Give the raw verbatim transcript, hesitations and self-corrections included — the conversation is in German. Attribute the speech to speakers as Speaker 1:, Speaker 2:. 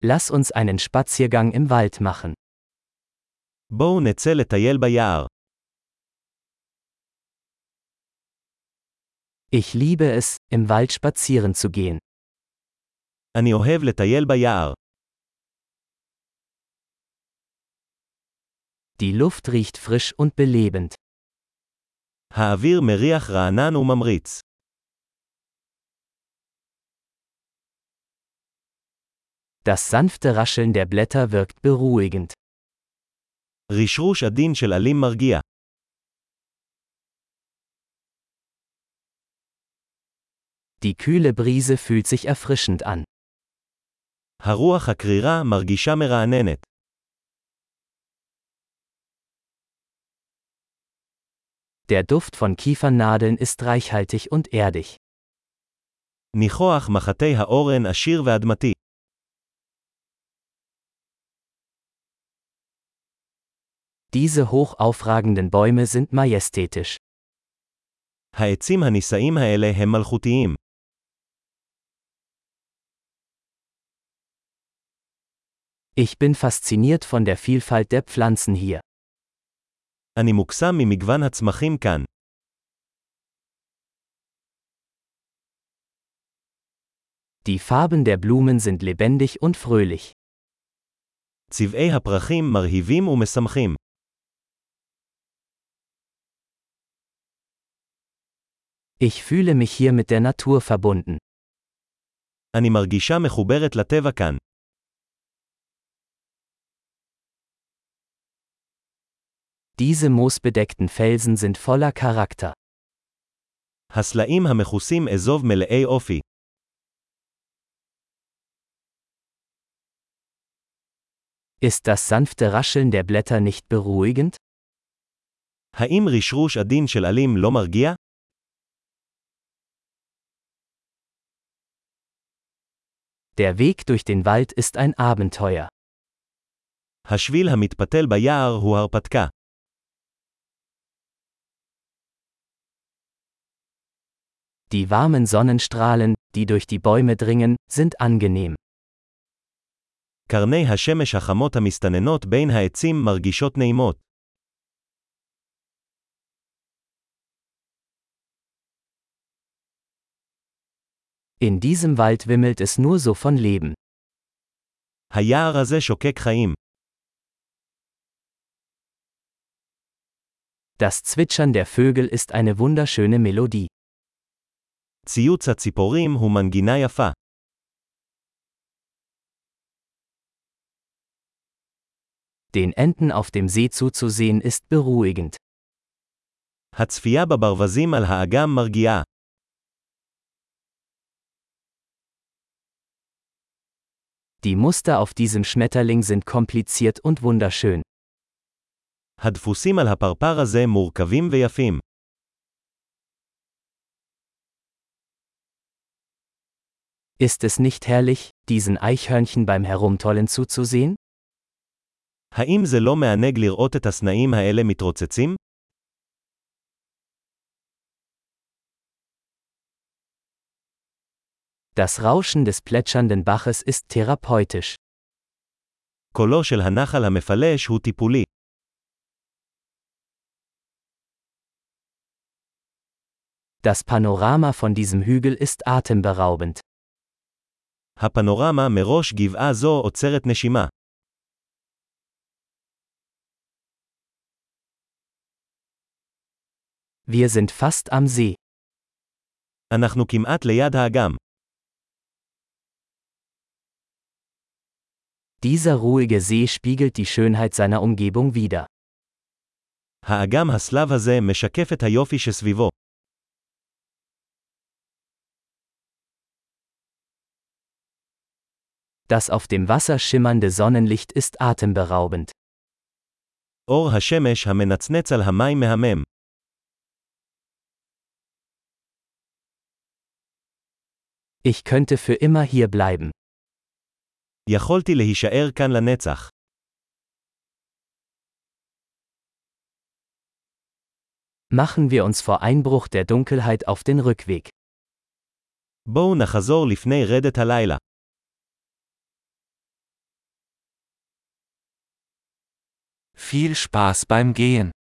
Speaker 1: Lass uns einen Spaziergang im Wald machen.
Speaker 2: בואו נצא לטייל ביער.
Speaker 1: Ich liebe es, im Wald spazieren zu gehen.
Speaker 2: אני אוהב לטייל ביער.
Speaker 1: Die Luft riecht frisch und belebend.
Speaker 2: האוויר מריח רענן וממריץ.
Speaker 1: Das sanfte Rascheln der Blätter wirkt beruhigend.
Speaker 2: רשרוש עדין של עלים מרגיע.
Speaker 1: Die kühle Brise fühlt sich erfrischend an.
Speaker 2: הרוח הקרירה מרגישה מרעננת.
Speaker 1: Der Duft von Kiefernadeln ist reichhaltig und erdig.
Speaker 2: ניחוח מחטי האורן עשיר ואדמתי.
Speaker 1: Diese hoch aufragenden Bäume sind majestätisch.
Speaker 2: העצים הנישאים האלה הם מלכותיים.
Speaker 1: Ich bin fasziniert von der Vielfalt der Pflanzen hier.
Speaker 2: אני מוקסם ממגוון הצמחים כאן.
Speaker 1: Die Farben der Blumen sind lebendig und fröhlich.
Speaker 2: צבעי הפרחים מרהיבים ומשמחים.
Speaker 1: Ich fühle mich hier mit der Natur verbunden.
Speaker 2: אני מרגישה מחוברת לטבע כאן.
Speaker 1: Diese moosbedeckten Felsen sind voller Charakter.
Speaker 2: הסלעים המכוסים אזוב מלאי אופי.
Speaker 1: Ist das sanfte Rascheln der Blätter nicht beruhigend?
Speaker 2: האם רשרוש עדין של עלים לא מרגיע?
Speaker 1: Der Weg durch den Wald ist ein Abenteuer.
Speaker 2: השביל המתפתל ביער הוא הרפתקה.
Speaker 1: Die warmen Sonnenstrahlen, die durch die Bäume dringen, sind angenehm.
Speaker 2: קרני השמש החמות המסתננות בין העצים מרגישות נעימות.
Speaker 1: In diesem Wald wimmelt es nur so von Leben.
Speaker 2: היער הזה שוקק חיים.
Speaker 1: Das Zwitschern der Vögel ist eine wunderschöne Melodie.
Speaker 2: ציוץ הציפורים הוא מנגינה יפה.
Speaker 1: Den Enten auf dem See zuzusehen ist beruhigend.
Speaker 2: הצפייה בברווזים על האגם מרגיעה.
Speaker 1: Die Muster auf diesem Schmetterling sind kompliziert und wunderschön.
Speaker 2: הדפוסים על הפרפר הזה מורכבים ויפים.
Speaker 1: Ist es nicht herrlich, diesen Eichhörnchen beim Herumtollen zuzusehen?
Speaker 2: האם זה לא מענג לראות את הסנאים האלה מתרוצצים?
Speaker 1: Das Rauschen des plätschernden Baches ist therapeutisch.
Speaker 2: קולו של הנחל המפלש הוא טיפולי.
Speaker 1: Das Panorama von diesem Hügel ist atemberaubend.
Speaker 2: הפנורמה מראש גבעה זו עוצרת נשימה.
Speaker 1: Wir sind fast am See.
Speaker 2: אנחנו כמעט ליד האגם.
Speaker 1: Dieser ruhige See spiegelt die Schönheit seiner Umgebung wider.
Speaker 2: האגם הסלב הזה משקף את היופי שסביבו.
Speaker 1: Das auf dem Wasser schimmernde Sonnenlicht ist atemberaubend.
Speaker 2: אור השמש המנצנץ על המים מהמם.
Speaker 1: Ich könnte für immer hier bleiben.
Speaker 2: יכולתי להישאר כאן לנצח.
Speaker 1: Machen wir uns vor Einbruch der Dunkelheit auf den Rückweg.
Speaker 2: בואו נחזור לפני רדת הלילה.
Speaker 3: Viel Spaß beim Gehen.